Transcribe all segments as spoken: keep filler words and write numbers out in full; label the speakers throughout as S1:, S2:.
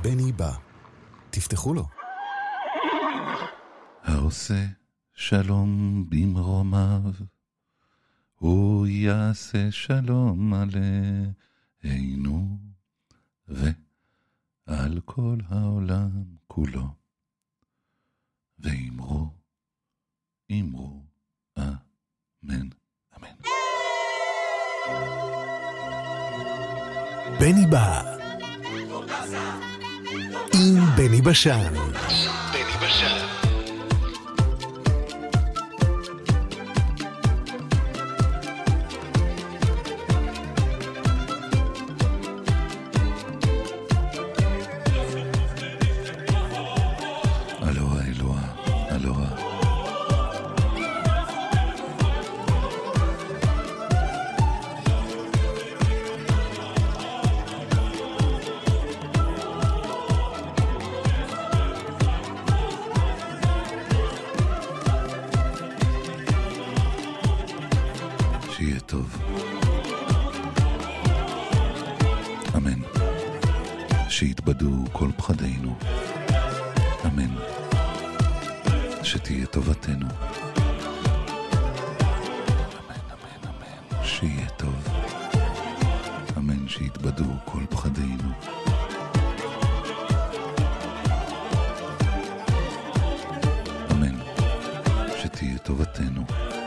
S1: בני בא. תפתחו לו.
S2: העושה שלום במרומיו, הוא יעשה שלום עלינו ועל כל העולם כולו. ואמרו, אמרו, אמן, אמן.
S1: בני בא. עם בני בשן. בני בשן.
S2: שיהיה טוב. אמן. שיתבדו כל פחדינו. אמן. שתהיה טובתנו. אמן, אמן, אמן. שיהיה טוב. אמן. שיתבדו כל פחדינו. אמן. שתהיה טובתנו.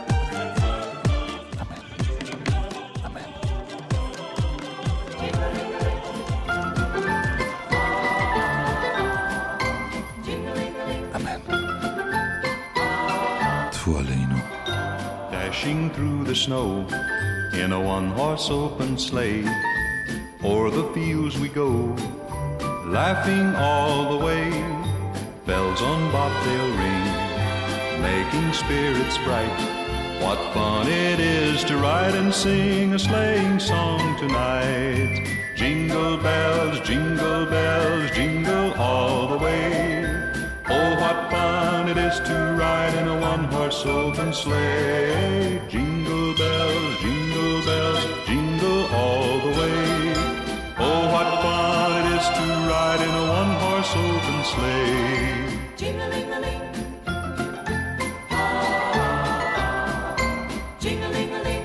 S3: Dashing through the snow in a one-horse open sleigh, o'er the fields we go, laughing all the way. Bells on bobtail ring, making spirits bright. What fun it is to ride and sing a sleighing song tonight. Jingle bells, jingle bells, jingle all the way. Oh, what fun it is to ride in a one-horse open sleigh. Jingle bells, jingle bells, jingle all the way. Oh, what fun it is to ride in a one-horse open sleigh.
S4: Jing-a-ling-a-ling. Jing-a-ling-a-ling.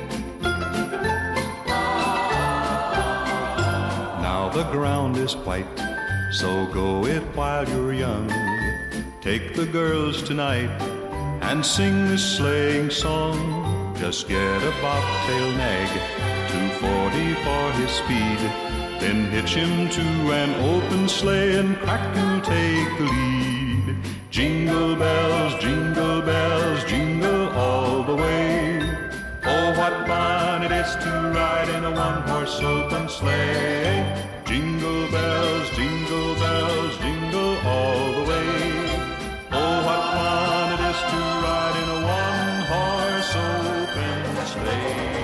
S3: Now the ground is white, so go it while you're young. Take the girls tonight and sing this sleighing song. Just get a bobtail nag, two forty for his speed. Then hitch him to an open sleigh and crack you'll take the lead. Jingle bells, jingle bells, jingle all the way. Oh, what fun it is to ride in a one-horse open sleigh. Jingle bells, jingle bells, jingle all the way. Oh, what fun it is to ride in a one-horse open sleigh.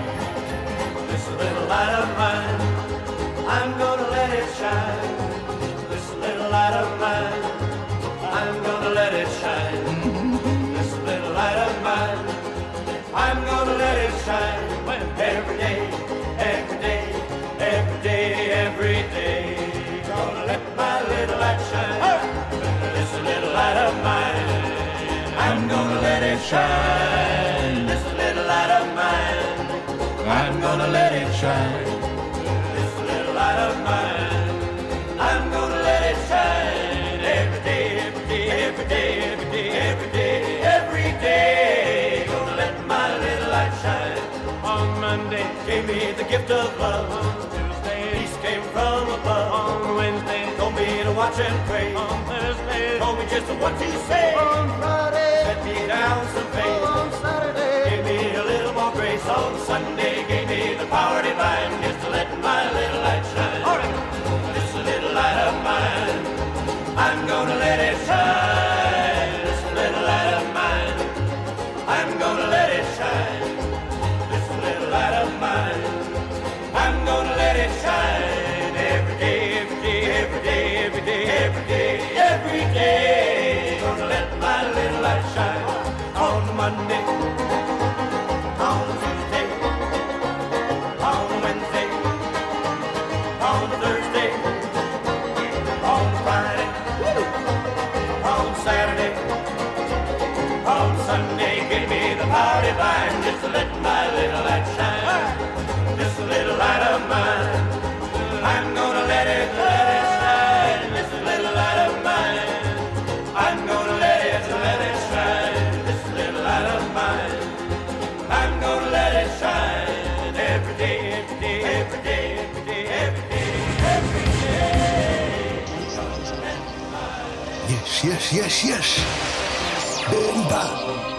S5: This little light of mine, I'm gonna let it shine. This little light of mine, I'm gonna let it shine. This little light of mine, I'm gonna let it shine. Every day, every day, every day, every day. Gonna let my little light shine. This little light of mine, I'm gonna let it shine. This little light of mine, I'm gonna let it shine. This little light of mine, I'm gonna let it shine. Every day, every day, every day, every day, every day, every day. Gonna let my little light shine. On Monday, gave me the gift of love. On Tuesday, peace came from above. On Wednesday, told me to watch and pray. On Thursday, told me just what to say. On Friday, set me down some faith. On Saturday, gave me a little more grace. On Sunday, gave me the power divine just to let my little light shine. All right. This little light of mine, I'm gonna let it shine. This little light of mine, I'm gonna let it shine. This little light of mine, I'm gonna let it shine. Every day, every day, every day, every day, every day, every day. Gonna let my little light shine. On Monday, on Tuesday, on Wednesday, on Thursday, on Sunday gave me the party line, just to let my little light shine. Just a little light of mine, I'm gonna let it, let it shine. Just a little light of mine, I'm gonna let it, let it shine. Just a little light of mine, I'm gonna let it shine. Every day, every day, every day, every day, every day, every day.
S1: יש, יש, יש, יש. בליבה.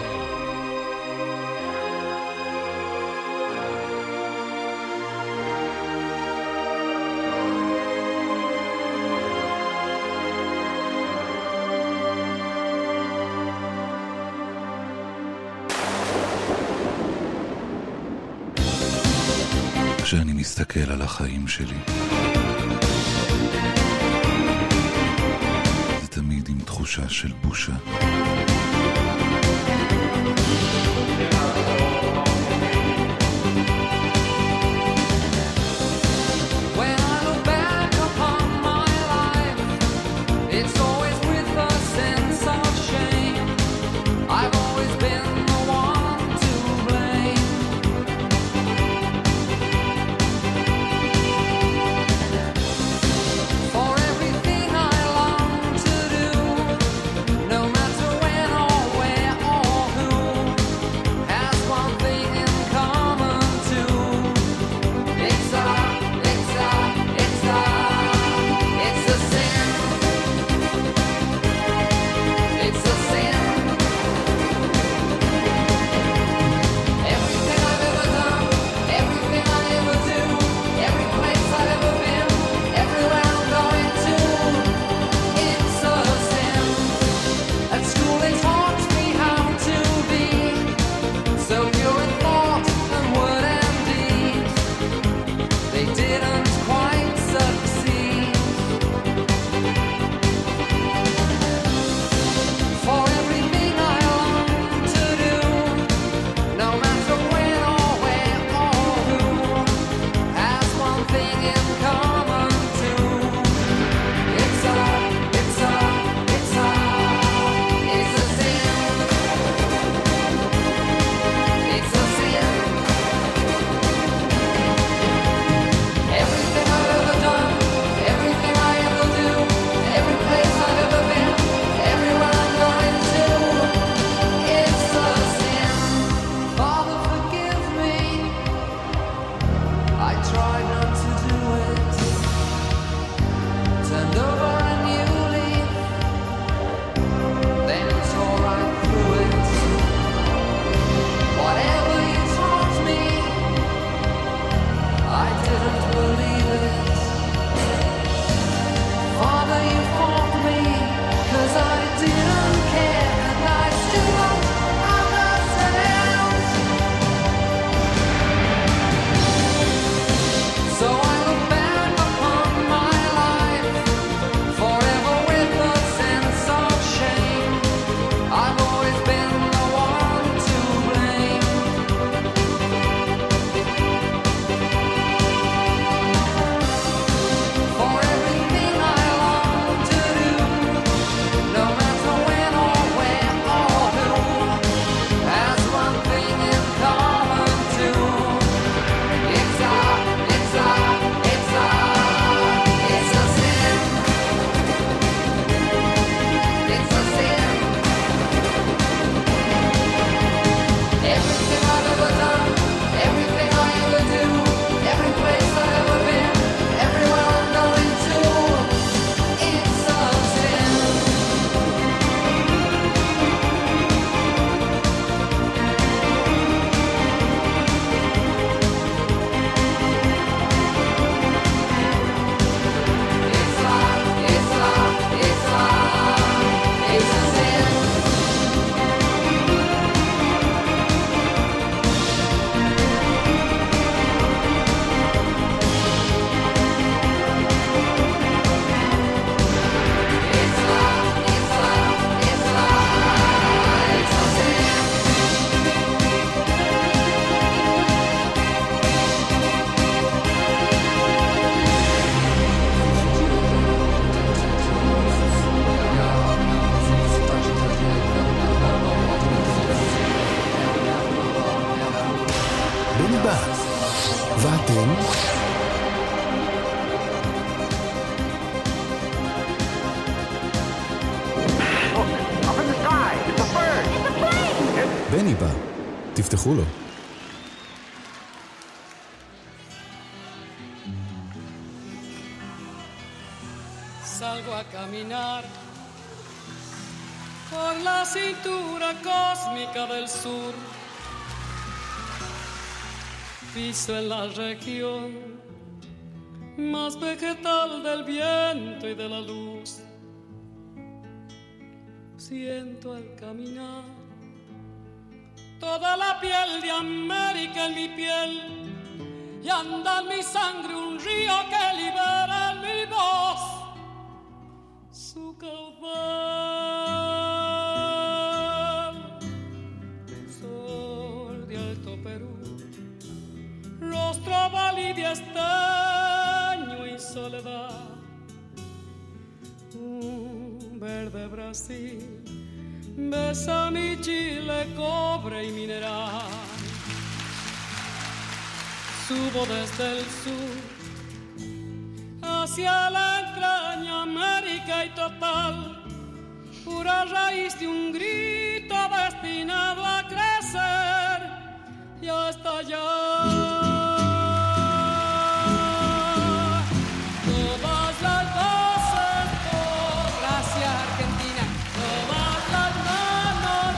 S2: כשאני מסתכל על החיים שלי, זה תמיד עם תחושה של בושה.
S6: When I look back upon my life, it's always with a sense of shame. I've always been the one to blame. For everything I long to do, no matter
S1: עם בני בא, תפתחו לו.
S7: Salgo a caminar por la cintura cósmica del sur. Piso en la región más vegetal del viento y de la luz. Siento al caminar toda la piel de América en mi piel y anda en mi sangre un río que libera en mi voz su caudal. Sol de Alto Perú, rostro oval y de estaño y soledad, un verde Brasil besa mi Chile, cobre y mineral. Subo desde el sur hacia la entraña América y total, pura raíz de un grito destinado a crecer y a estallar. Todas las voces, todas, gracias Argentina, todas las manos,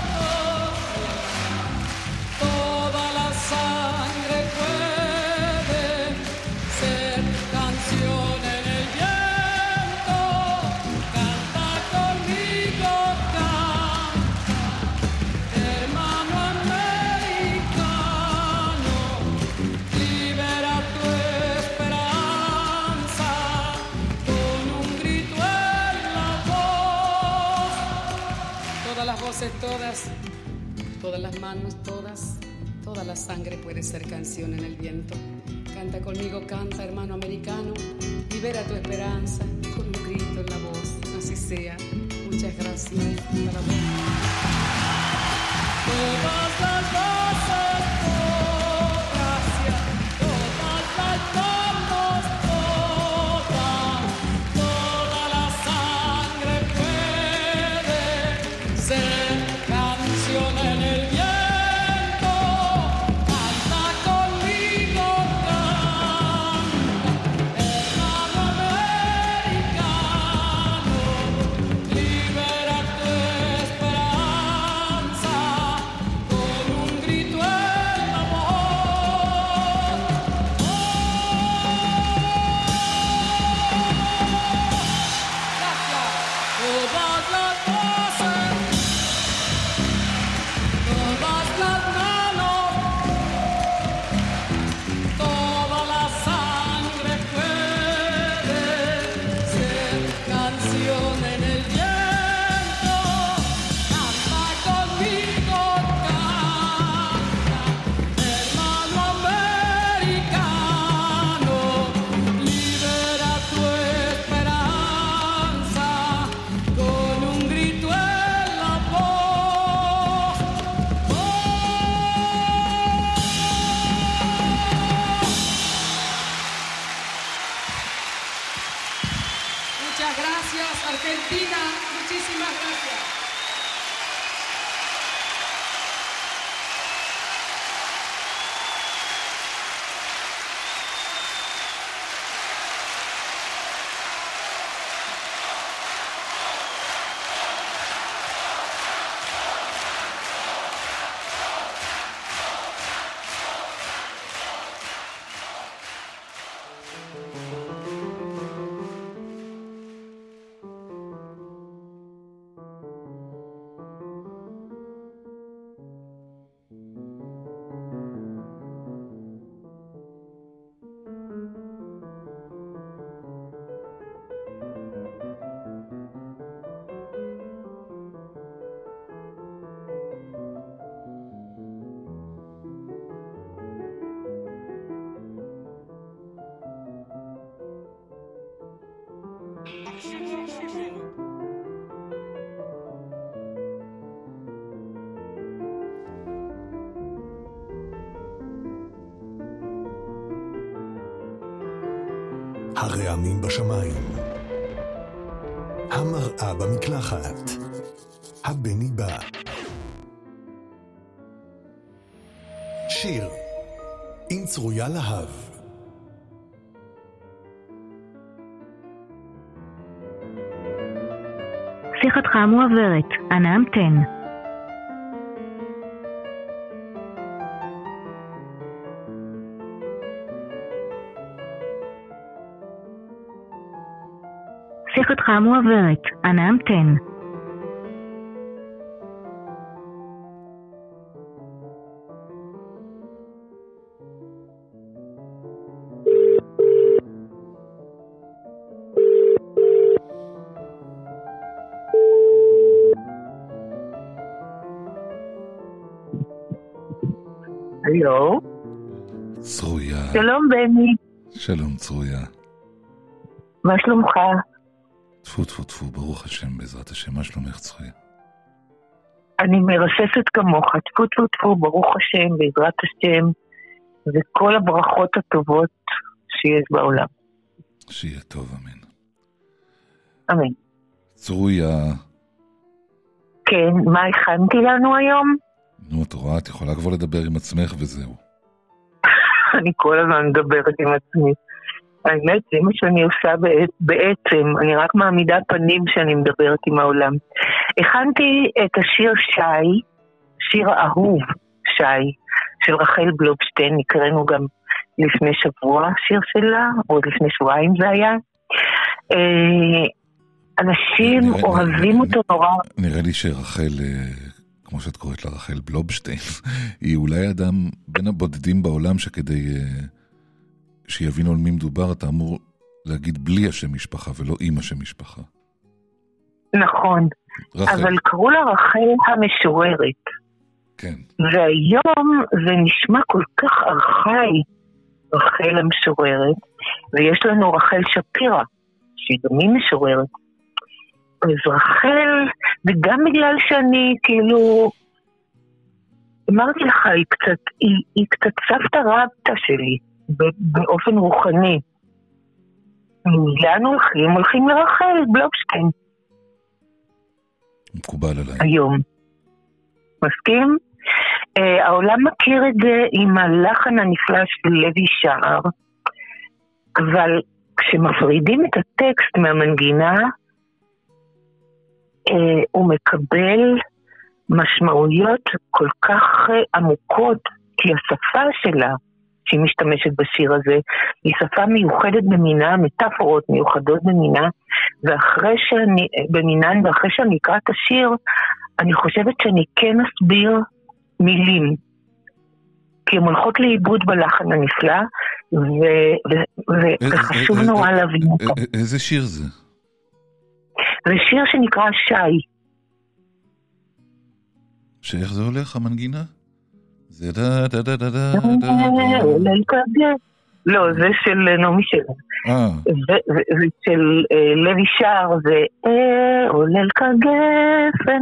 S7: toda la sangre puede ser canción en el viento. Canta conmigo, canta, hermano americano, libera tu esperanza con un grito en la voz. Todas las voces, todas, todas las manos, todas, toda la sangre puede ser canción en el viento. Canta conmigo, canta, hermano americano, libera tu esperanza con un grito en la voz. Así sea. Muchas gracias. Para vos. Todas las voces, todas, gracias. Todas las manos, todas, toda la sangre puede ser canción en el viento. Canta conmigo, canta, hermano americano, libera tu esperanza con un grito en la voz. Gracias. Todas las voces, todas las manos, toda la sangre puede ser canción en el viento. Canta conmigo, canta, hermano americano, libera tu esperanza con un grito en la voz. Muchas gracias, Argentina. Muchísimas gracias.
S1: הרעמים בשמיים, המראה במקלחת, הבני בא. שיר עם צרויה להב.
S8: שיחתך מועברת, אנא המתן. שיחתך מועברת, אנא המתן.
S9: הלו?
S2: צרויה.
S9: שלום בני.
S2: שלום צרויה.
S9: מה שלומך?
S2: טפו טפו טפו, ברוך השם, בעזרת השם. מה שלומך צרויה?
S9: אני מרססת כמוך, טפו טפו טפו, ברוך השם, בעזרת השם, וכל הברכות הטובות שיש בעולם.
S2: שיהיה טוב, אמן.
S9: אמן.
S2: צרויה.
S9: כן, מה הכנתי לנו היום?
S2: נו, את רואה, את יכולה כבר לדבר עם עצמך וזהו.
S9: אני כל הזמן מדברת עם עצמי. האמת, זה מה שאני עושה בעצם, אני רק מעמידה פנים שאני מדברת עם העולם. הכנתי את השיר שי, שיר האהוב שי, של רחל בלובשטיין, נקראנו גם לפני שבוע שיר שלה, או לפני שבועיים זה היה. אנשים אוהבים אותו נורא.
S2: נראה לי שרחל, כמו שאת קוראת לה רחל בלובשטיין, היא אולי אדם בין הבודדים בעולם שכדי שיבינו על מי מדובר, אתה אמור להגיד בלי השם משפחה ולא עם השם משפחה.
S9: נכון, רחל. אבל קראו לה רחל המשוררת.
S2: כן.
S9: והיום זה נשמע כל כך ארכאי, רחל המשוררת, ויש לנו רחל שפירא, שהיא גם היא משוררת. אז רחל, וגם בגלל שאני כאילו, אמרתי לך, היא קצת, היא, היא קצת סבתא רבתא שלי, באופן רוחני. לאן הולכים? הולכים לרחל בלובשטיין.
S2: מקובל עליי.
S9: היום. מסכים? Uh, העולם מכיר את זה עם הלחן הנפלא של לוי שער, אבל כשמפרידים את הטקסט מהמנגינה, uh, הוא מקבל משמעויות כל כך uh, עמוקות, כי השפה שלה, שהיא משתמשת בשיר הזה, היא שפה מיוחדת במינה, מטאפורות מיוחדות במינה, ואחרי שאני, במינן, ואחרי שאני אקרא את השיר, אני חושבת שאני כן אסביר מילים, כי הן הולכות לאיבוד בלחן הנפלא, וחשוב נורא להבין אותו.
S2: איזה שיר זה?
S9: זה שיר שנקרא שי.
S2: שאיך זה הולך, המנגינה? זה דה דה דה דה דה דה
S9: דה. לא, זה של נעמי שלו. זה של לוי שער, זה עולל כגפן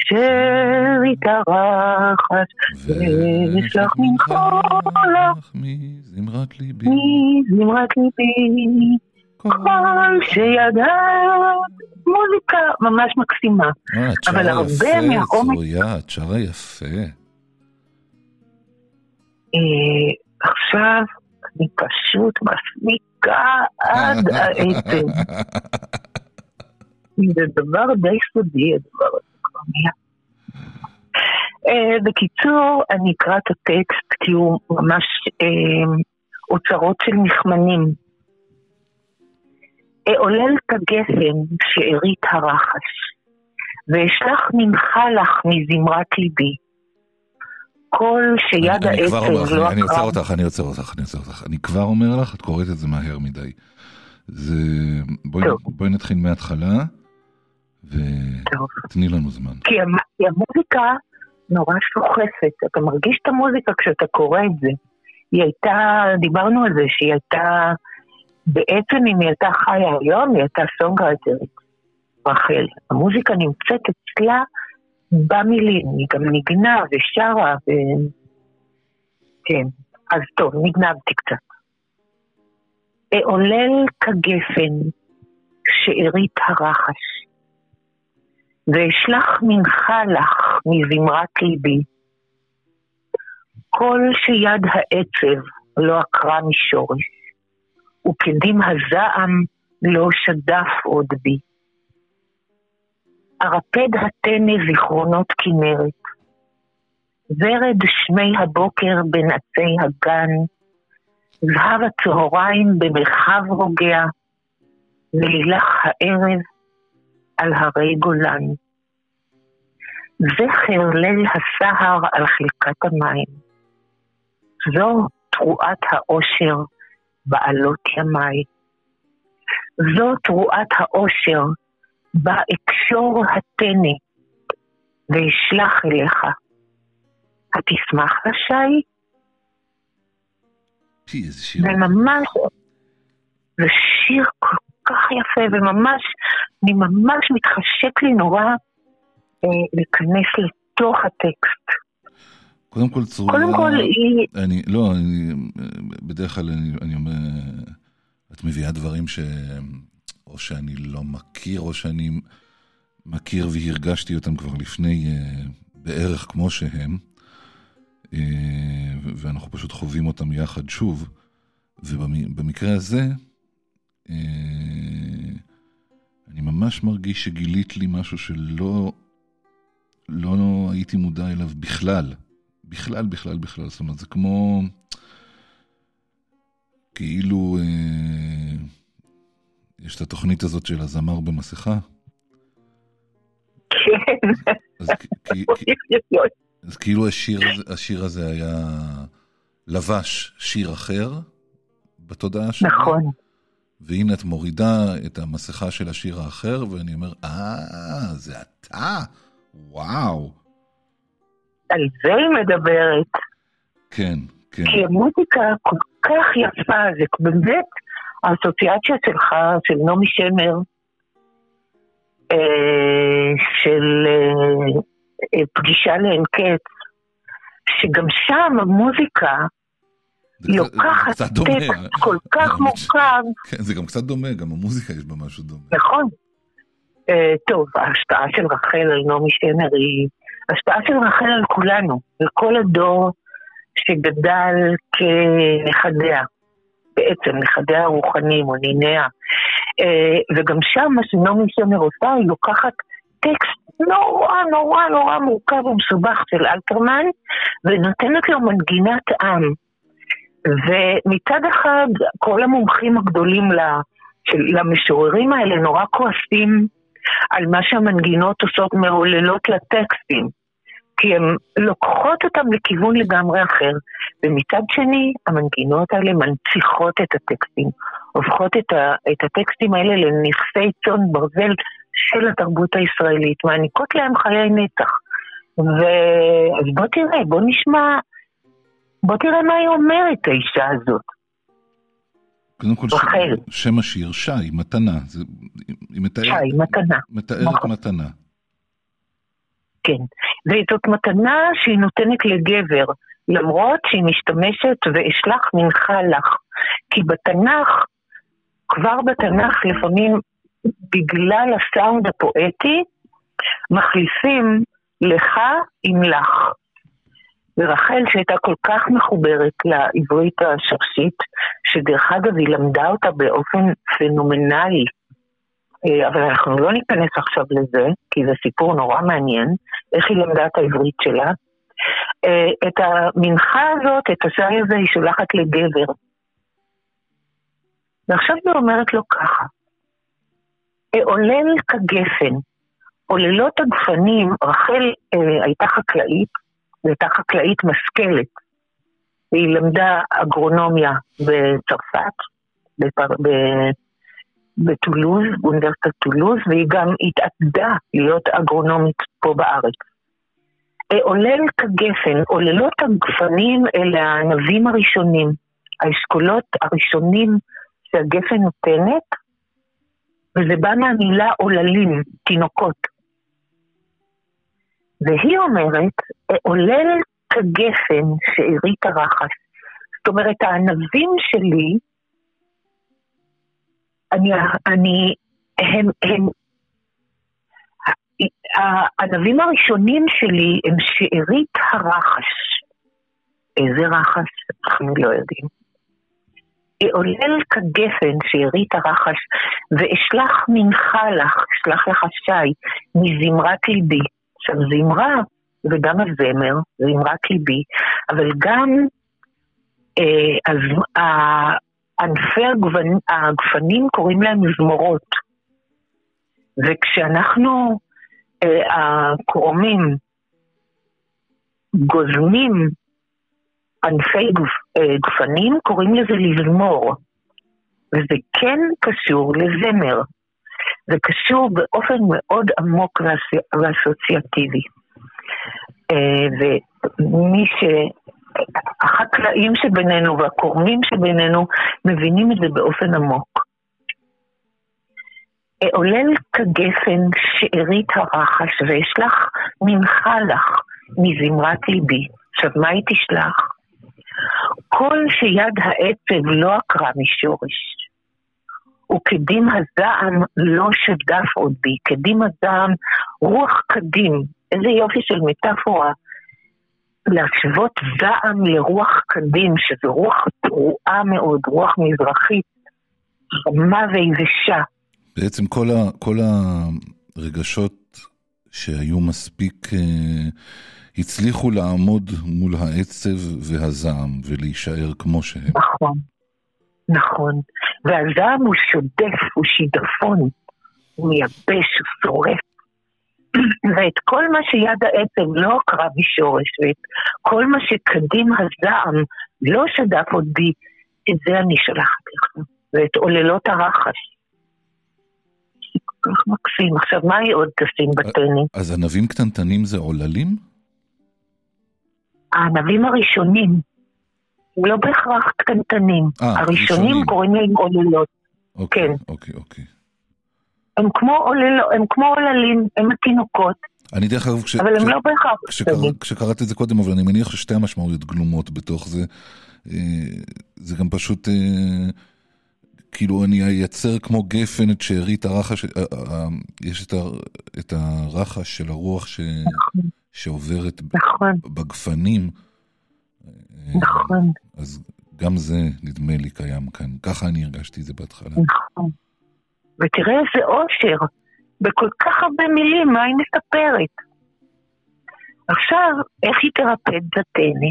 S9: שהתארחת וישלח מנחולך
S2: מזמרת ליבי
S9: מזמרת ליבי כל שידעת, מוזיקה ממש מקסימה. אבל הרבה מהעומק...
S2: צרויה, את שרה יפה.
S9: עכשיו אני פשוט מסמיקה עד העצם. זה דבר די סודי, הדבר הזה כבר נהיה. בקיצור, אני אקרא את הטקסט כי הוא ממש אוצרות של נחמנים. עולל כגפן שארית הרחש, ואשלח מנחה לך מזמרת ליבי. כל שיד העצם לא...
S2: אני עוצר אותך, אני עוצר אותך, אני עוצר אותך. אני כבר אומר לך, את קוראת את זה מהר מדי. זה... בואי נתחיל מההתחלה, ותני לנו זמן.
S9: כי המוזיקה נורא שוחפת. אתה מרגיש את המוזיקה כשאתה קורא את זה. היא הייתה, דיברנו על זה, שהיא הייתה... בעצם אם היא הייתה חיה היום, היא הייתה סונגרייטרית, רחל. המוזיקה נמצאת אצלה במילים, היא גם נגנה ושרה, ו... כן. אז טוב, נגנבתי קצת. עולל כגפן שארית הרחש, ואשלח מנחה לך מזמרת ליבי, כל שיד העצב לא עקרה משורש, וקדים הזעם לא שדף עוד בי. ארפד התנה זיכרונות כנרת, ורד שמי הבוקר בין עצי הגן, זהב הצהריים במרחב רוגע, ולילך הערב על הרי גולן. זכר ליל הסהר על חלקת המים, זו תרועת האושר בעלות ימי. זו תרועת האושר באקשור התני, וישלח אליך. התשמח לשי?
S2: איזה שיר.
S9: וממש, זה שיר כל כך יפה, וממש, אני ממש מתחשק לי נורא אה, להיכנס לתוך הטקסט.
S2: קודם כל צרורה,
S9: קודם כל היא...
S2: אני, לא, אני, בדרך כלל אני, אני אומר, את מביאה דברים ש... או שאני לא מכיר, או שאני מכיר והרגשתי אותם כבר לפני בערך כמו שהם, ואנחנו פשוט חווים אותם יחד שוב, ובמקרה הזה, אני ממש מרגיש שגילית לי משהו שלא לא הייתי מודע אליו בכלל. בכלל, בכלל, בכלל. זאת אומרת, זה כמו כאילו אה, יש את התוכנית הזאת של הזמר במסכה.
S9: כן.
S2: אז, כי, כי, אז כאילו השיר, השיר הזה היה לבש שיר אחר בתודעה שלי.
S9: נכון.
S2: והנה את מורידה את המסכה של השיר האחר, ואני אומר, אה, זה אתה? וואו.
S9: על זה היא מדברת.
S2: כן, כן.
S9: כי המוזיקה כל כך יפה, זה באמת האסוציאציה שלך, של נעמי שמר, אה, של אה, פגישה לאין קץ, שגם שם המוזיקה לוקחת טקסט כל כך מורכב.
S2: כן, זה גם קצת דומה, גם המוזיקה יש בה משהו דומה.
S9: נכון. Uh, טוב, ההשפעה של רחל על נעמי שמר היא השפעה של רחל על כולנו, על כל הדור שגדל כנכדיה, בעצם נכדיה הרוחניים או ניניה. Uh, וגם שם מה שנעמי שמר עושה, היא לוקחת טקסט נורא נורא נורא מורכב ומסובך של אלתרמן, ונותנת לו מנגינת עם. ומצד אחד, כל המומחים הגדולים למשוררים האלה נורא כועסים על מה שהמנגינות עושות מעוללות לטקסטים, כי הן לוקחות אותם לכיוון לגמרי אחר, ומצד שני, המנגינות האלה מנציחות את הטקסטים, הופכות את, ה, את הטקסטים האלה לנכסי צאן ברזל של התרבות הישראלית, מעניקות להם חיי נצח. אז בוא תראה, בוא נשמע, בוא תראה מה היא אומרת, האישה הזאת.
S2: קודם כל,
S9: רחל.
S2: שם השיר, שי, מתנה. זה, היא מתארת,
S9: שי, מתנה.
S2: מתארת
S9: נכון.
S2: מתנה.
S9: כן, וזאת מתנה שהיא נותנת לגבר, למרות שהיא משתמשת ואשלח מנחה לך. כי בתנ"ך, כבר בתנ"ך לפעמים, בגלל הסאונד הפואטי, מחליפים לך עם לך. ורחל שהייתה כל כך מחוברת לעברית השרשית, שדרך אגב היא למדה אותה באופן פנומנלי, אבל אנחנו לא ניכנס עכשיו לזה, כי זה סיפור נורא מעניין, איך היא למדה את העברית שלה. את המנחה הזאת, את השי הזה, היא שולחת לגבר. ועכשיו היא אומרת לו ככה, עולל כגפן, עוללות הגפנים, רחל אה, הייתה חקלאית, והייתה חקלאית משכלת, והיא למדה אגרונומיה בצרפת, בפר... ב... בטולוז, באוניברסיטת טולוז, והיא גם התעתדה להיות אגרונומית פה בארץ. עולל כגפן, עוללות הגפנים אלה הענבים הראשונים, האשכולות הראשונים שהגפן נותנת, וזה בא מהמילה עוללים, תינוקות. והיא אומרת, עולל כגפן שארית הרחש. זאת אומרת, הענבים שלי אני, אני, הם, הם, הענבים הראשונים שלי הם שארית הרחש. איזה רחש? אנחנו לא יודעים. עולל כגפן שארית הרחש, ואשלח מנחה לך, אשלח לך שי, מזמרת ליבי. עכשיו זמרה, וגם הזמר, זמרת ליבי, אבל גם אה, אז, אה, ענפי הגוון, הגפנים קוראים להם זמורות. וכשאנחנו אה, הקורמים גוזמים ענפי גופ, אה, גפנים, קוראים לזה לזמור. וזה כן קשור לזמר. זה קשור באופן מאוד עמוק ואסוציאטיבי. אה, ומי ש... החקלאים שבינינו והקורמים שבינינו מבינים את זה באופן עמוק. עולל כגפן שארית הרחש ואשלח מנחה לך מזמרת ליבי. עכשיו מה היא תשלח? כל שיד העצב לא עקרה משורש, וקדים הזעם לא שדף עוד בי. קדים הזעם, רוח קדים. איזה יופי של מטאפורה. להשוות זעם לרוח קדים, שזו רוח תרועה מאוד, רוח מזרחית, חמה ויבשה.
S2: בעצם כל, ה, כל הרגשות שהיו מספיק אה, הצליחו לעמוד מול העצב והזעם ולהישאר כמו שהם.
S9: נכון, נכון. והזעם הוא שודף, הוא שידפון, הוא מייבש, הוא שורף. ואת כל מה שיד העצב לא קרה בשורש, ואת כל מה שקדים הזעם לא שדף עוד בי, את זה אני שלחת לך. ואת עוללות הרחש. כל כך מקסים. עכשיו, מה היא עוד תשים בטני?
S2: אז ענבים קטנטנים זה עוללים?
S9: הענבים הראשונים, לא בהכרח קטנטנים. הראשונים קוראים להם עוללות.
S2: כן. אוקיי, אוקיי.
S9: הם כמו עוללות, הם כמו עוללים, הם התינוקות.
S2: אני דרך אגב, כש...
S9: אבל הם לא בהכרח.
S2: כשקראתי את זה קודם, אבל אני מניח ששתי המשמעויות גלומות בתוך זה. זה גם פשוט... כאילו אני אייצר כמו גפן את שארית הרחש, יש את הרחש של הרוח ש... נכון. שעוברת נכון. בגפנים.
S9: נכון.
S2: אז גם זה נדמה לי קיים כאן. ככה אני הרגשתי את זה בהתחלה.
S9: נכון. ותראה איזה אושר. בכל כך הרבה מילים, מה היא מספרת? עכשיו, איך היא תרפד בטנא?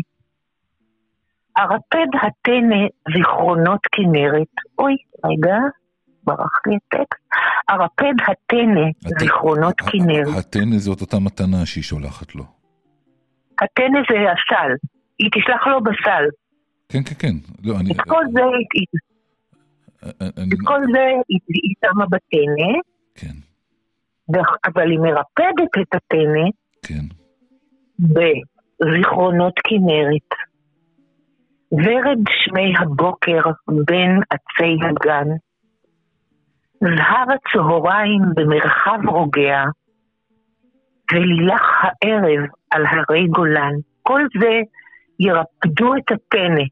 S9: הרפד הטנא זיכרונות כנרת. אוי, רגע, ברח לי הטקסט. הרפד הטנא זיכרונות כנרת.
S2: הטנא זאת אותה מתנה שהיא שולחת לו.
S9: הטנא זה הסל. היא תשלח לו בסל.
S2: כן, כן, כן. לא, אני...
S9: את כל זה היא... את כל זה היא שמה בטנא.
S2: כן.
S9: אבל היא מרפדת את הטנא.
S2: כן.
S9: בזיכרונות כנרת. ורד שמי הבוקר בין עצי הגן, זהב הצהריים במרחב רוגע, ולילך הערב על הרי גולן. כל זה ירפדו את הטנא,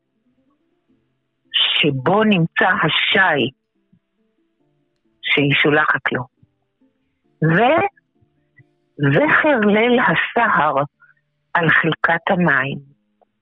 S9: שבו נמצא השי, שהיא שולחת לו. וזכר ליל הסהר על חלקת המים.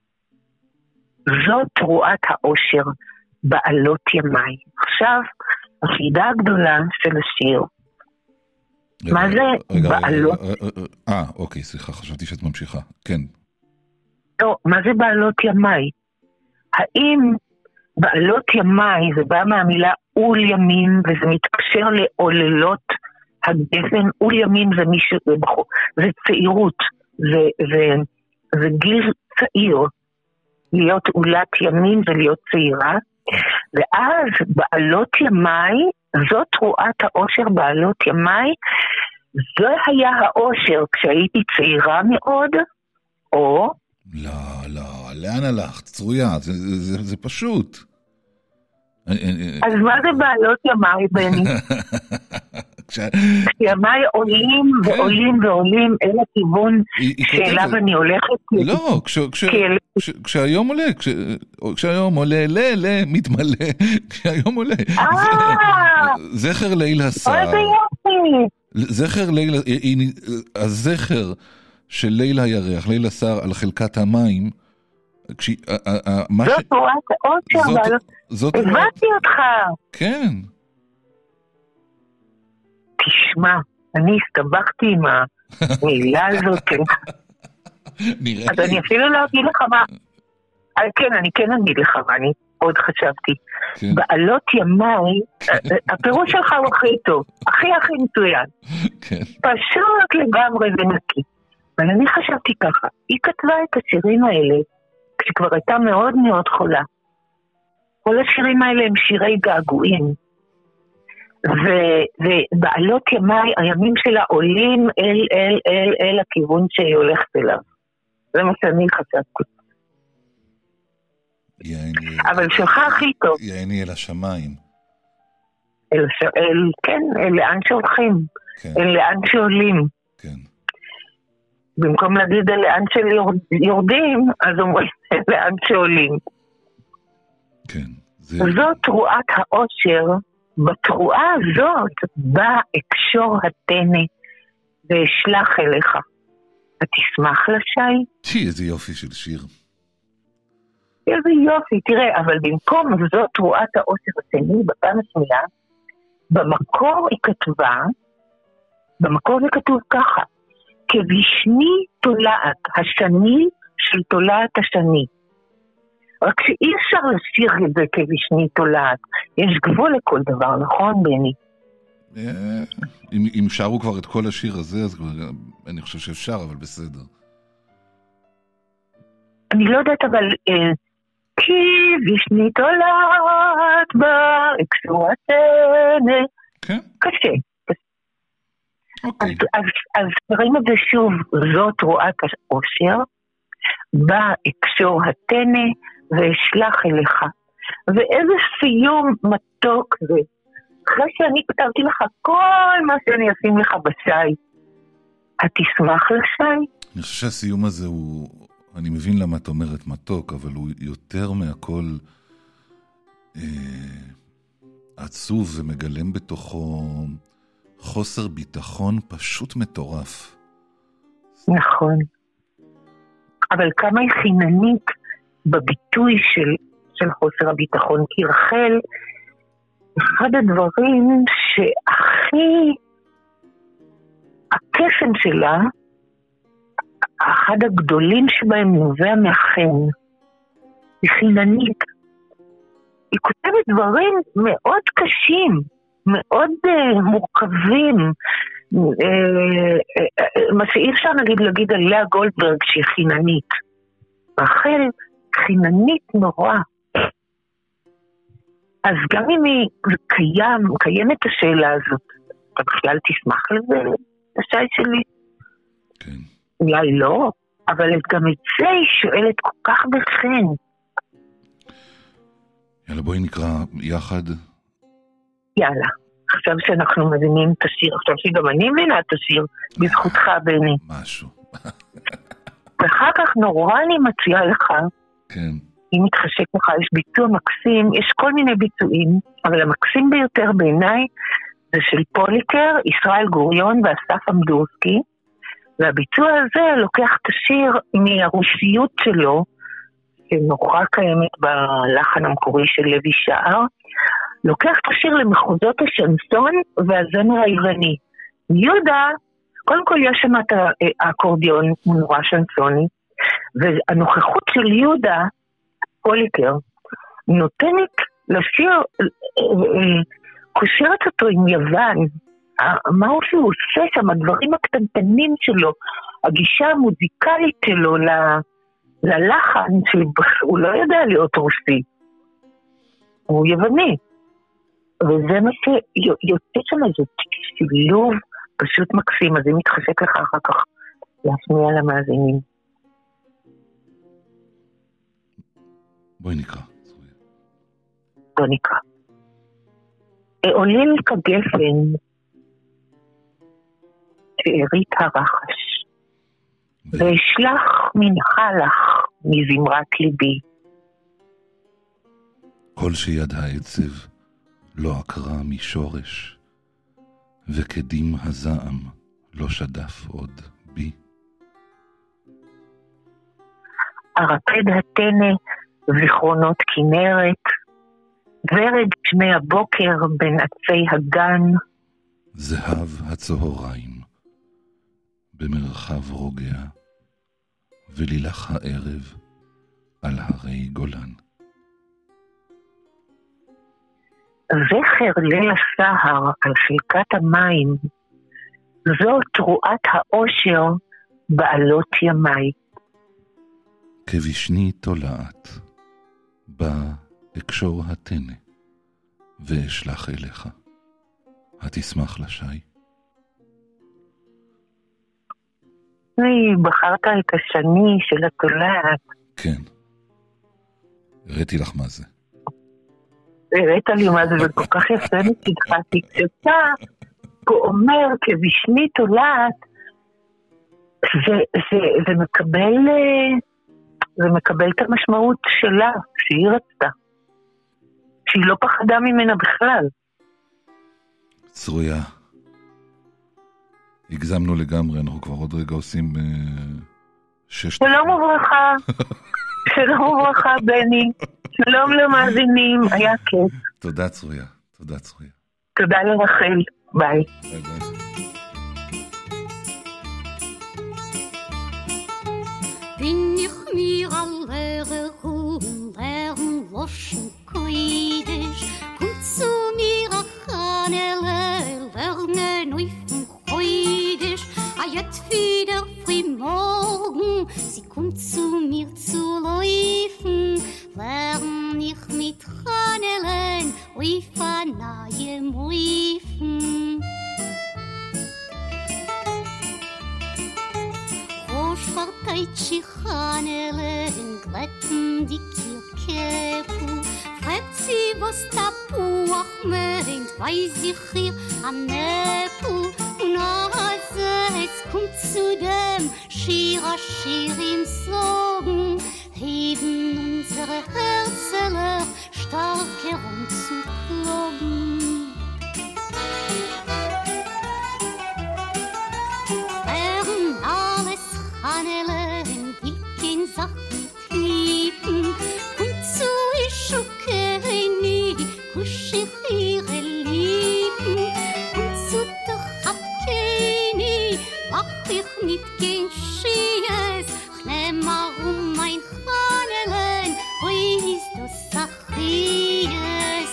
S9: זאת תרועת האושר בעלות ימי. עכשיו, החידה הגדולה של השיר. מה זה בעלות?
S2: אה, אוקיי, סליחה, חשבתי שאת ממשיכה. כן.
S9: לא, מה זה בעלות ימי? האם בעלות ימי זה בא מהמילה אול ימים, וזה מתקשר לעוללות הגפן? אול ימים זה מישהו, זה צעירות, זה, זה, זה גיל צעיר. להיות אולת ימים ולהיות צעירה, ואז בעלות ימי, זאת תרועת האושר בעלות ימי, זה היה האושר כשהייתי צעירה מאוד, או...
S2: לא, לא, לאן הלכת? צרויה, זה, זה, זה, זה פשוט.
S9: אז מה זה בעלות ימי, בני? כשימיי עולים ועולים ועולים אל הכיוון שאליו אני הולכת.
S2: לא, כשהיום עולה, כשהיום עולה, ל, ל, מתמלא, כשהיום עולה. זכר ליל הסער.
S9: איזה יופי.
S2: זכר ליל, הזכר של ליל הירח, ליל הסער על חלקת המים,
S9: זאת תורת העושר, אבל הבנתי אותך.
S2: כן.
S9: תשמע, אני הסתבכתי עם המילה הזאת. אז אני אפילו לא אגיד לך מה. כן, אני כן אגיד לך מה, אני עוד חשבתי. בעלות ימיי, הפירוש שלך הוא הכי טוב, הכי הכי מצוין. פשוט לגמרי ונקי. אבל אני חשבתי ככה, היא כתבה את השירים האלה, כשכבר הייתה מאוד מאוד חולה. כל השירים האלה הם שירי געגועים. ובעלות ימיי, הימים שלה עולים אל, אל, אל, אל הכיוון שהיא הולכת אליו. זה מה שאני חשבתי.
S2: יעני,
S9: אבל שלך הכי טוב.
S2: יעני אל השמיים.
S9: אל, אל, כן, אל לאן שהולכים. כן. אל לאן שעולים.
S2: כן.
S9: במקום להגיד אל לאן של יורדים, אז אומרים אל לאן שעולים.
S2: כן. זה...
S9: זאת תרועת העושר. בתרועה הזאת בא אקשור התנה ואשלח אליך. תשמח לשי?
S2: תשי, איזה יופי של שיר.
S9: איזה יופי, תראה, אבל במקום זאת תרועת העושר השני, בפעם השנייה, במקור היא כתבה, במקור זה כתוב ככה, כבשני תולעת, השני של תולעת השני. רק שאי אפשר לשיר את זה כבשני תולעת. יש גבול לכל דבר, נכון, בני?
S2: אם, אם שרו כבר את כל השיר הזה, אז אני חושב שאפשר, אבל בסדר.
S9: אני לא יודעת, אבל כי בשני תולעת בה, אקשור התנה.
S2: כן?
S9: קשה.
S2: אוקיי.
S9: אז, אז, אז קוראים את זה שוב, זאת תרועת העושר, בא אקשור התנה, ואשלח אליך. ואיזה סיום מתוק זה. אחרי שאני כתבתי לך כל מה שאני אשים לך בשי, התשמח לשי?
S2: אני חושב שהסיום הזה הוא, אני מבין למה את אומרת מתוק, אבל הוא יותר מהכל אה, עצוב ומגלם בתוכו חוסר ביטחון פשוט מטורף.
S9: נכון. אבל כמה היא חיננית בביטוי של, של חוסר הביטחון, כי רחל, אחד הדברים שהכי, הקסם שלה, אחד הגדולים שבהם נובע מהחן, היא חיננית. היא כותבת דברים מאוד קשים, מאוד uh, מורכבים, uh, uh, מה שאי אפשר נגיד להגיד על לאה גולדברג שהיא חיננית. רחל חיננית נורא. אז גם אם היא קיים, קיימת השאלה הזאת, אתה בכלל תשמח לזה, השי שלי?
S2: כן.
S9: אולי לא, אבל גם את זה היא שואלת כל כך בחן.
S2: יאללה, בואי נקרא יחד.
S9: יאללה, עכשיו שאנחנו מבינים את השיר, עכשיו שגם אני מבינה את השיר, בזכותך בני.
S2: משהו.
S9: ואחר כך נורא אני מציעה לך,
S2: כן.
S9: אם מתחשק לך, יש ביצוע מקסים, יש כל מיני ביצועים, אבל המקסים ביותר בעיניי זה של פוליקר, ישראל גוריון ואסף אמדורסקי, והביצוע הזה לוקח את השיר מהרוסיות שלו, שנורא קיימת בלחן המקורי של לוי שער, לוקח את השיר למחוזות השנסון והזמר העירני. יהודה, קודם כל יש שם את האקורדיון, הוא נורא שנסוני, והנוכחות של יהודה, פוליקר, נותנת לשיר, קושרת אותו עם יוון, מה הוא שהוא עושה שם, הדברים הקטנטנים שלו, הגישה המוזיקלית שלו ללחן, שהוא לא יודע להיות רוסי, הוא יווני, וזה מה שיוצא שם איזה שילוב פשוט מקסים, אז אם מתחשק לך אחר כך להשמיע למאזינים.
S2: בואי נקרא.
S9: בואי נקרא. עולים כגפן, שארית הרחש, ואשלח מנחה לך מזמרת ליבי.
S2: כל שיד העצב לא עקרה משורש, וכדים הזעם לא שדף עוד בי.
S9: ארפד התנה זיכרונות כנרת, ורד שמי הבוקר בין עצי הגן,
S2: זהב הצהריים במרחב רוגע, ולילך הערב על הרי גולן.
S9: זכר ליל הסהר על חלקת המים, זו תרועת האושר בעלות ימי.
S2: כבשני תולעת, בא אקשור התנה, ואשלח אליך. התשמח לשי?
S9: בחרת את השני של התולעת.
S2: כן. הראיתי לך מה זה.
S9: הראית לי מה זה, וכל כך יפה מצדך, כי כשאתה אומר כבשני תולעת, זה, זה, זה מקבל, זה מקבל את המשמעות שלה, שהיא רצתה. שהיא לא פחדה ממנה בכלל.
S2: צרויה. הגזמנו לגמרי, אנחנו כבר עוד רגע עושים uh, שש...
S9: שלום וברכה. שלום וברכה, בני. שלום למאזינים, היה כיף.
S2: תודה צרויה, תודה צרויה.
S9: תודה לרחל, ביי.
S2: ביי ביי.
S10: Bin ich mir alle Ruhen, Lehren, Loschen, Koidisch, kommt zu mir a Chanele, Lernen, Neufen, Koidisch, a jet wieder früh morgen, sie kommt zu mir zu laufen, lern ich mit Chanelen, Uifa nahe Muifen. Schwarteitschi Chanelen glätten die Kirkepu, fragt sie, was Tapuach meint, weiß ich ihr am Nepu. Und also es kommt zu dem Schir a Schir im Sorgen, heben unsere Herzeler stark herum zu kloppen. Chanelen, dicken Sachen lieben, kommt zu Ischukeni, kusch ich ihre Lieben, kommt zu doch Abkeni, mach ich nicht kein Schies, ich nehm mal um mein Chanelen, oi ist das Sachies.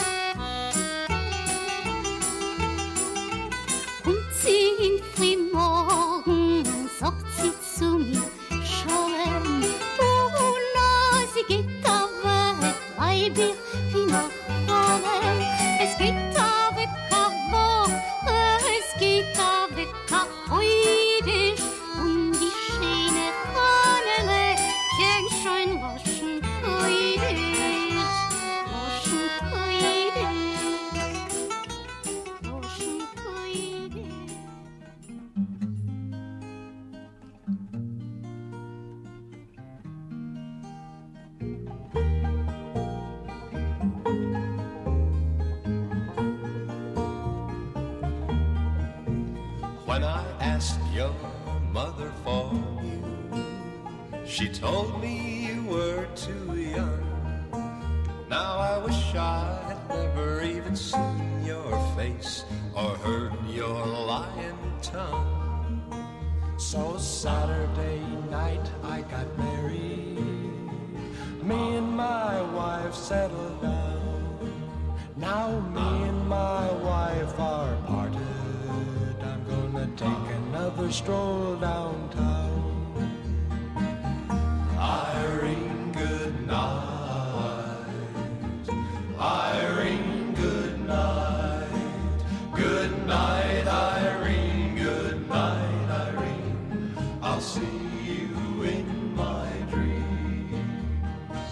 S10: Kommt sie in Frühmorgen, sagt sie zu mir, Scholem, oh na, sie geht weg, bleib ich wie nach Scholem. Es geht weg, a Woche, es geht weg, a Freudisch, und die schöne Chanele kennt schon waschen Freudisch, waschen Freudisch, waschen Freudisch.
S5: When I asked your mother for you, she told me you were too young. Now I wish I had never even seen your face or heard your lying tongue. So Saturday night I got married, me and my wife settled down. Now me and my wife are parted, take another stroll downtown. Irene, good night. Irene, good night. Good night, Irene. Good night, Irene. I'll see you in my dreams.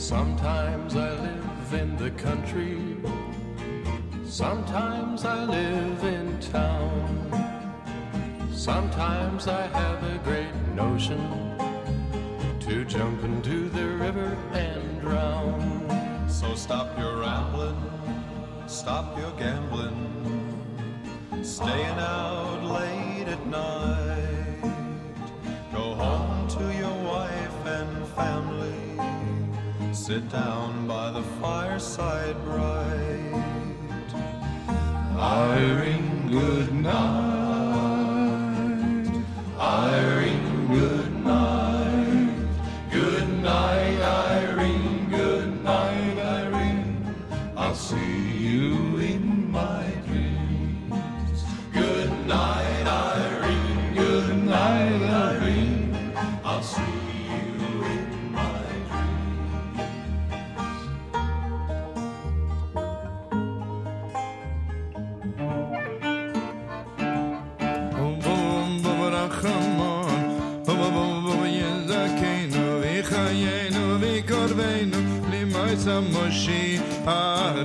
S11: Sometimes I live in the country, sometimes I live in town. Sometimes I have a great notion to jump into the river and drown.
S3: So stop your rambling, stop your gambling, staying out late at night. Go home to your wife and family, sit down by the fireside bright.
S11: Irene, good night. Irene, good night. Good night, Irene. Good night, Irene. I'll see you in my dreams. Good night, Irene. Good night, Irene. I'll see you in my
S12: Moshi, ah,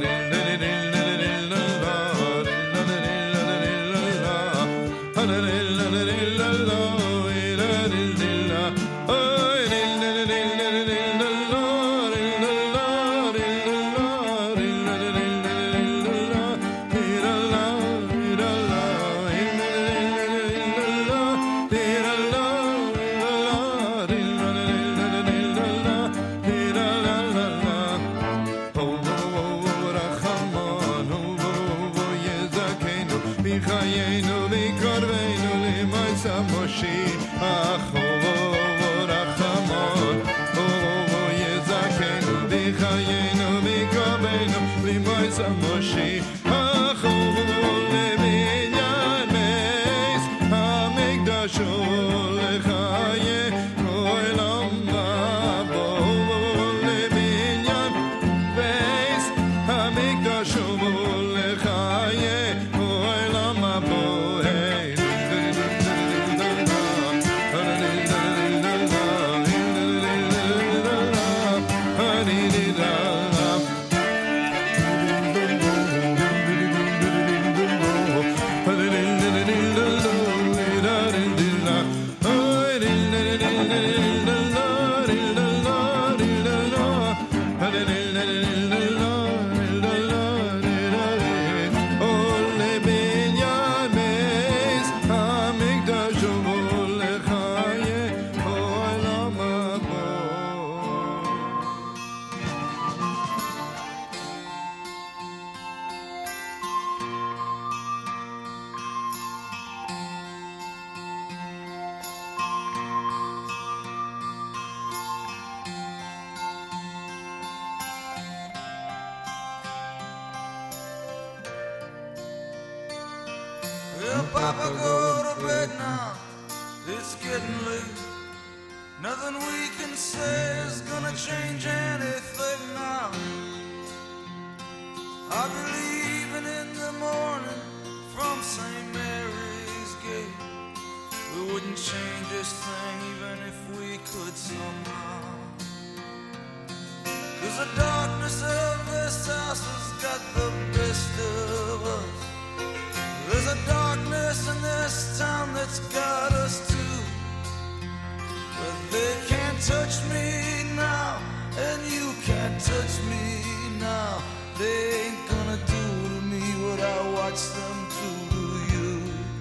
S12: Moshi,
S13: Papa, go to bed now. It's getting late. Nothing we can say is gonna change anything now. I'll be leaving in the morning from Saint Mary's Gate. We wouldn't change this thing even if we could somehow. 'Cause the darkness of this house has got the best of us. There's a darkness in this town that's got us too. But they can't touch me now, and you can't touch me now. They ain't gonna do to me what I watch them do to you.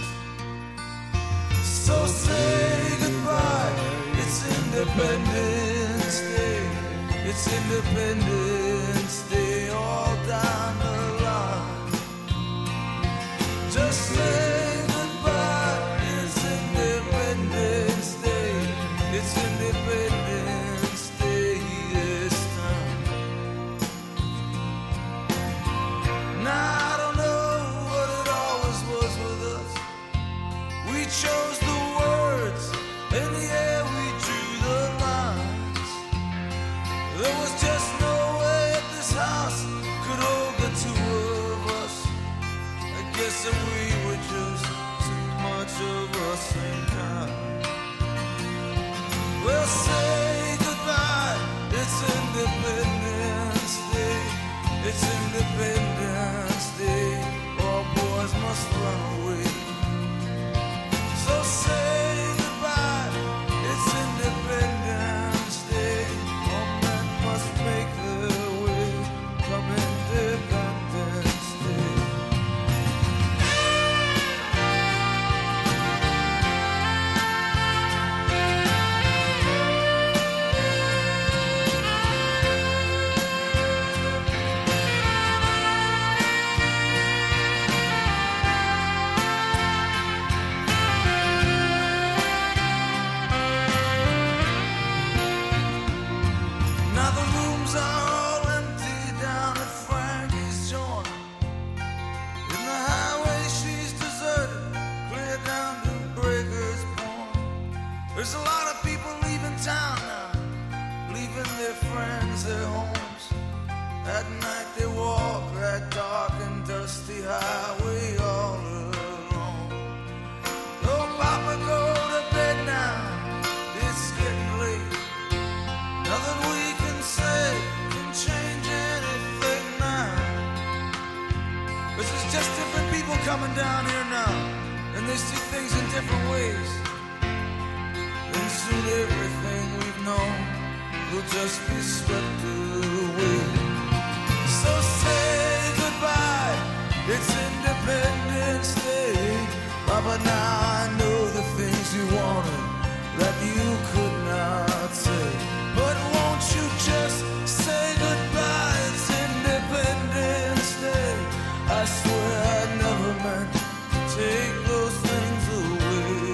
S13: So say goodbye, it's Independence Day. It's Independence Day all down the line. Just say goodbye, it's Independence Day. It's Independence Day this time. Now I don't know what it always was with us. We chose the words, and yeah, we drew the lines. There was just no way that this house could hold the two of us. I guess that we were just too much of the same kind. Well, say goodbye, it's Independence Independence Day, all boys must run away. So say goodbye, it's Independence Day. All men must make their way, come Independence Day. Now the rooms are all empty down at Frankie's joint. In the highway she's deserted, clear down to Breaker's Point. There's a lot of people leaving town now, leaving their friends, their homes. At night they walk that dark and dusty highway all alone. Oh, Papa, go to bed now, it's getting late. Nothing we can say can change anything now. Cause it's just different people coming down here now, and they see things in different ways. And soon everything we've known will just be swept away. So say goodbye, it's Independence Day. Papa, now I know the things you wanted that you could not say. But won't you just say goodbye, it's Independence Day. I swear I never meant to take those things away.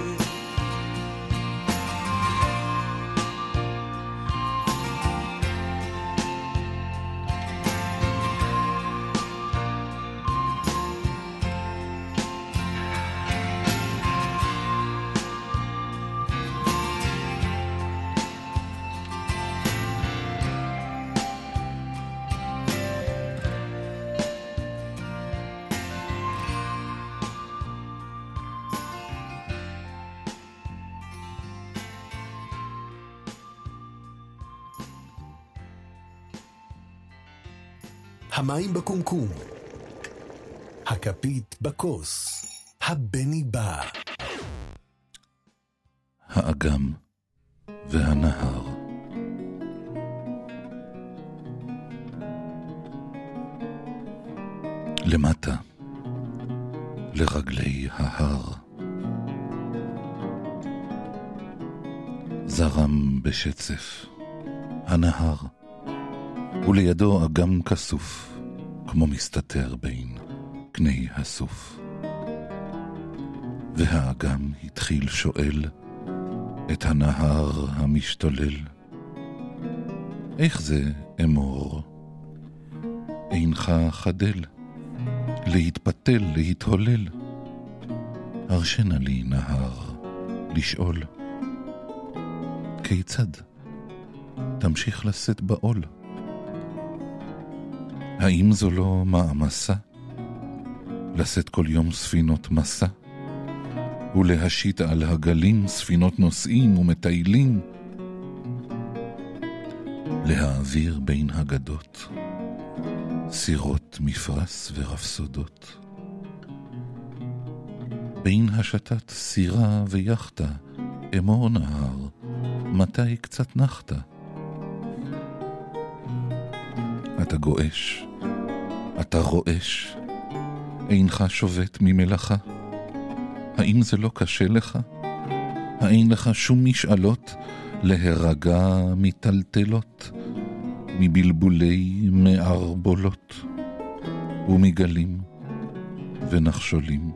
S1: המים בקומקום, הכפית בכוס, הבני בא.
S2: האגם והנהר. למטה, לרגלי ההר. זרם בשצף, הנהר, ולידו אגם כסוף, כמו מסתתר בין קני הסוף. והאגם התחיל שואל את הנהר המשתולל, איך זה אמור? אינך חדל, להתפתל, להתהולל. הרשנה לי נהר לשאול, כיצד תמשיך לשאת בעול? האם זו לא מעמסה? לשאת כל יום ספינות מסע, ולהשית על הגלים ספינות נוסעים ומטיילים, להעביר בין הגדות סירות מפרס ורפסודות, בין השתת סירה ויחתה אמור נהר, מתי קצת נחתה? אתה גואש, אתה רועש, אינך שובת ממלאכה. האם זה לא קשה לך? האין לך שום משאלות להירגע מטלטלות, מבלבולי מערבולות ומגלים ונחשולים?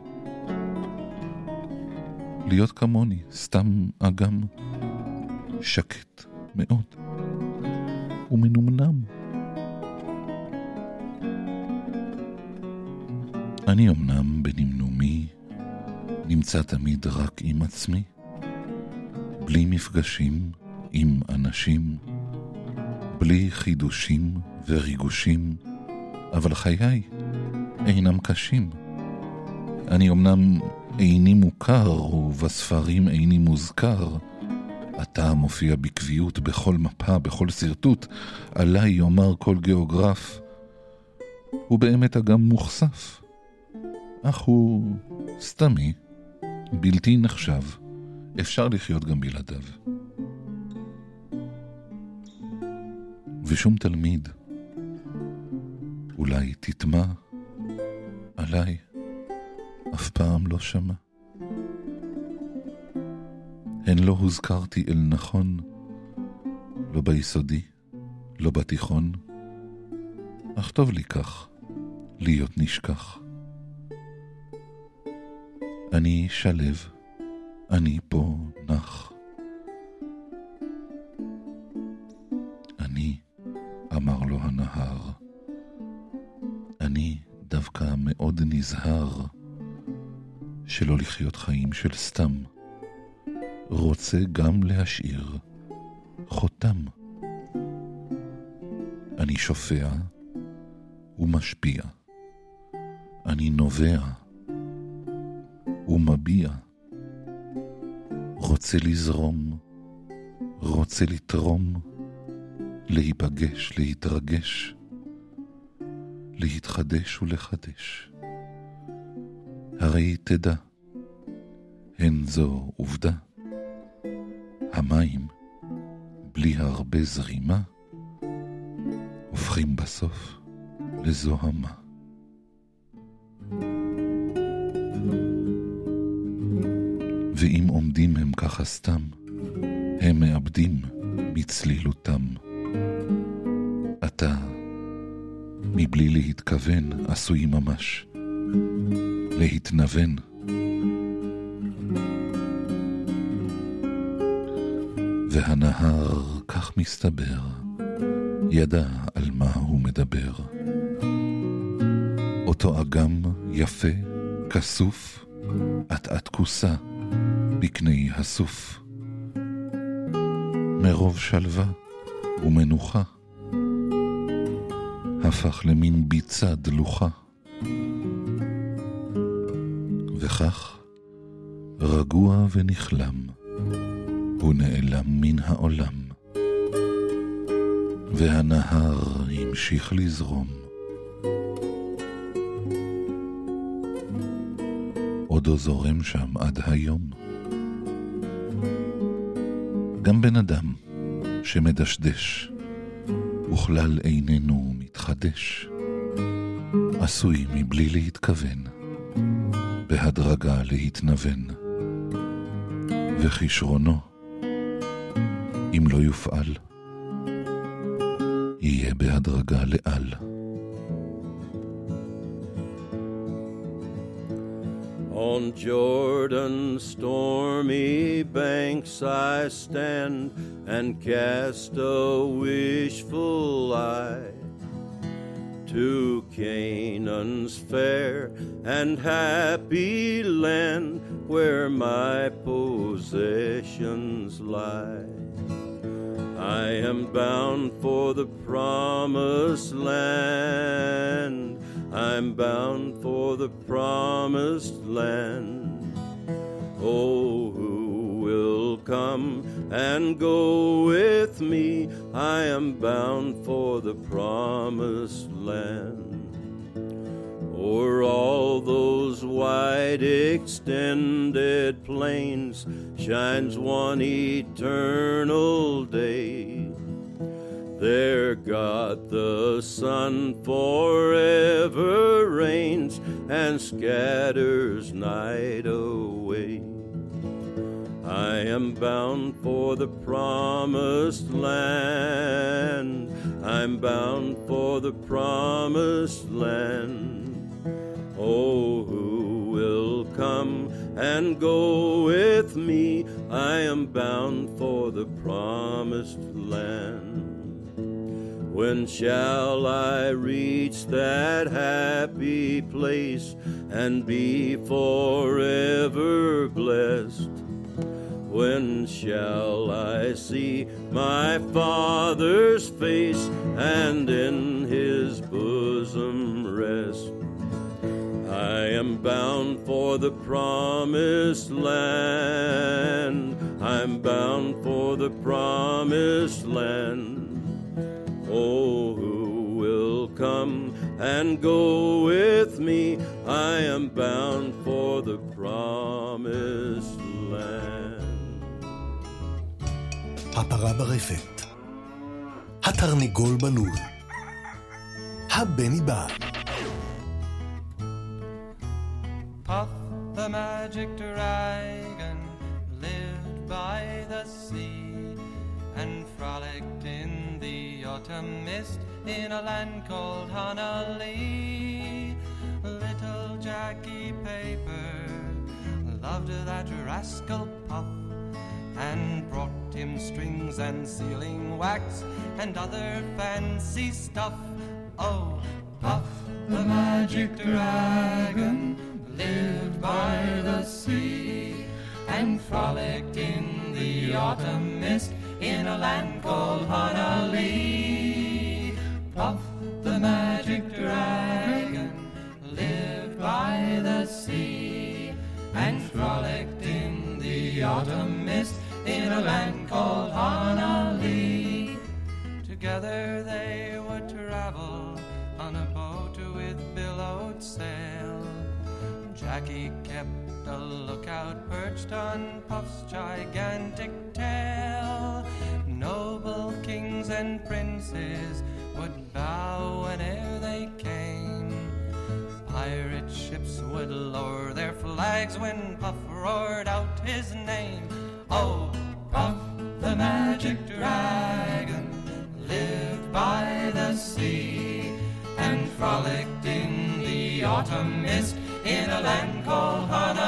S2: להיות כמוני, סתם אגם, שקט מאוד ומנומנם. אני אמנם בנמנומי נמצא תמיד רק עם עצמי, בלי מפגשים עם אנשים, בלי חידושים וריגושים, אבל חיי אינם קשים. אני אמנם איני מוכר ובספרים איני מוזכר, אתה מופיע בקביעות בכל מפה, בכל סרטוט, עליי יאמר כל גיאוגרף, הוא באמת אגם מוחשף, אך הוא סתמי, בלתי נחשב, אפשר לחיות גם בלעדיו. ושום תלמיד אולי תטמע עליי, אף פעם לא שמע. הן לא הוזכרתי אל נכון, לא ביסודי, לא בתיכון, אך טוב לי כך, להיות נשכח. אני שלב, אני פה נח. אני, אמר לו הנהר, אני דווקא מאוד נזהר שלא לחיות חיים של סתם, רוצה גם להשאיר חותם. אני שופע ומשפיע, אני נובע ומביע, רוצה לזרום, רוצה לתרום, להיפגש, להתרגש, להתחדש ולחדש. הרי תדע, הן זו עובדה, המים בלי הרבה זרימה הופכים בסוף לזוהמה. ואם עומדים הם ככה סתם, הם מאבדים מצלילותם. אתה, מבלי להתכוון, עשוי ממש להתנוון. והנהר, כך מסתבר, ידע על מה הוא מדבר. אותו אגם יפה, כסוף, עט-עט כוסה בקני הסוף. מרוב שלווה ומנוחה, הפך למין ביצה דלוחה. וכך, רגוע ונכלם, הוא נעלם מן העולם. והנהר המשיך לזרום. עודו זורם שם עד היום. גם בן אדם שמדשדש וכלל איננו מתחדש, עשוי מבלי להתכוון בהדרגה להתנוון. וכישרונו, אם לא יופעל, יהיה בהדרגה לאל.
S11: On Jordan's stormy banks I stand and cast a wishful eye to Canaan's fair and happy land where my possessions lie. I am bound for the promised land. I'm bound for the promised land. Oh, who will come and go with me? I am bound for the promised land. O'er all those wide extended plains shines one eternal day. There God the Son forever reigns and scatters night away. I am bound for the promised land. I'm bound for the promised land. Oh, who will come and go with me? I am bound for the promised land. When shall I reach that happy place and be forever blessed? When shall I see my Father's face and in his bosom rest? I am bound for the promised land. I'm bound for the promised land. Oh, who will come
S12: and go with me. I am bound for the promised land.
S1: הפרה ברפת, התרנגול בלול, הבני בא.
S11: Puff the magic dragon lived by the sea and frolicked in the autumn mist in a land called Honolulu. Little Jackie Paper loved that rascal Puff and brought him strings and sealing wax and other fancy stuff. Oh, Puff the magic dragon lived by the sea and frolicked in the autumn mist in a land called Honolulu. Puff the magic dragon lived by the sea and frolicked in the autumn mist in a land called Honolulu. Together they would travel on a boat with billowed sail. Jackie kept a lookout perched on Puff's gigantic tail. Noble kings and princes would bow whene'er they came. Pirate ships would lower their flags when Puff roared out his name. Oh, Puff the magic dragon lived by the sea and frolicked in the autumn mist in a land called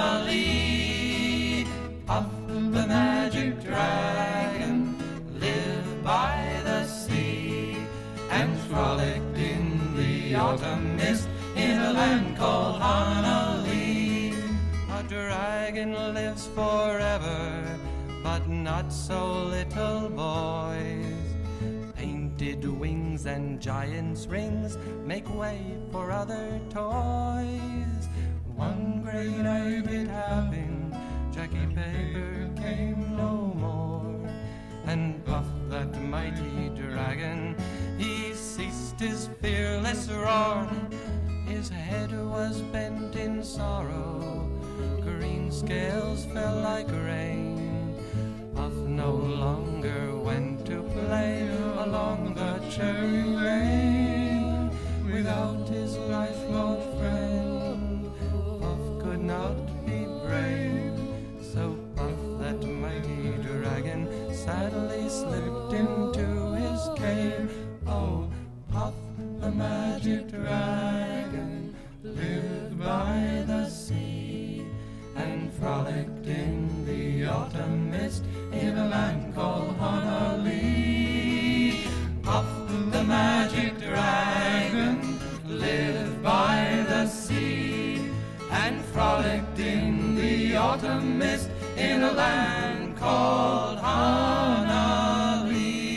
S11: Honolulu. Puff the magic dragon lived by the sea and frolicked in the autumn mist in a land called Honolulu. A dragon lives forever, but not so little boys. Painted wings and giant's rings make way for other toys. One great night it happened, Jackie Paper came no more, and Puff that mighty dragon, he ceased his fearless roar. His head was bent in sorrow, green scales fell like rain. Puff no longer went to play along the cherry lane. Without his lifelong friend, Puff could not be brave. So Puff, that mighty dragon, sadly slipped into his cave. Oh, Puff, the magic dragon, lived by the sea and frolicked in the autumn mist in a land called Honolulu. Puff the magic dragon lived by the sea and frolicked in the autumn mist in a land called Honolulu.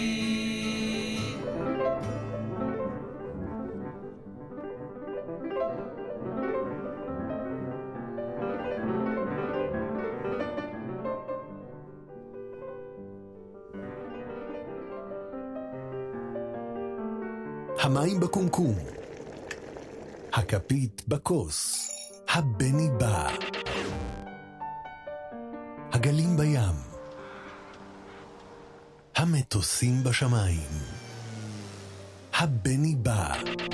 S1: המים בקומקום, הכפית בכוס, הבני בא, הגלים בים, המטוסים בשמיים, הבני בא,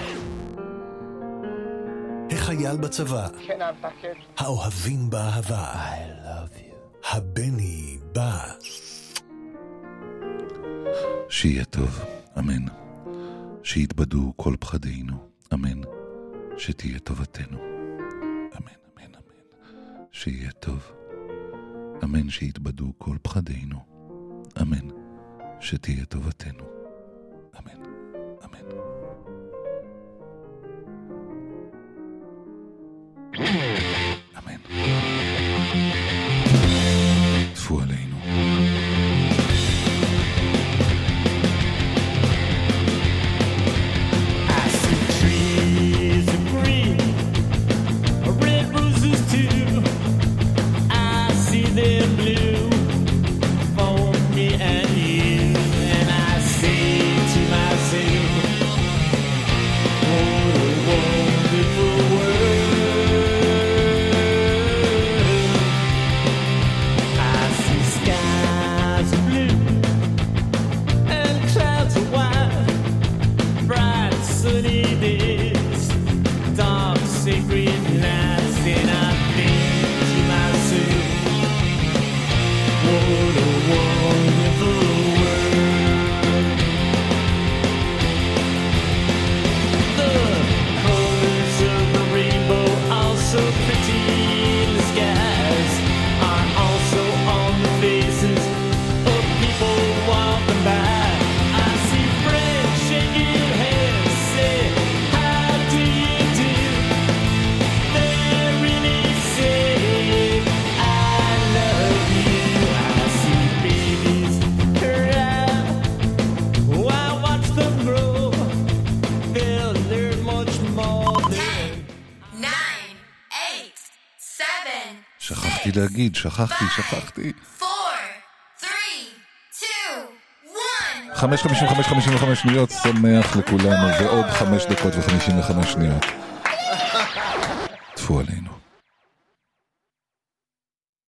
S1: החייל בצבא, האוהבים באהבה, I love you. הבני בא.
S2: שיהיה טוב, אמן. שיתבדו כל פחדינו, אמן. שתהיה טובתנו, אמן, אמן, אמן. שיהיה טוב, אמן. שיתבדו כל פחדינו, אמן. שתהיה טובתנו, אמן, אמן. אמן. טפו עלינו.
S14: Oh,
S2: שכחתי להגיד, שכחתי, שכחתי. חמש חמישים וחמש חמישים וחמש שניות, שמח לכולנו, ועוד חמש דקות וחמישים וחמש שניות. תפו עלינו.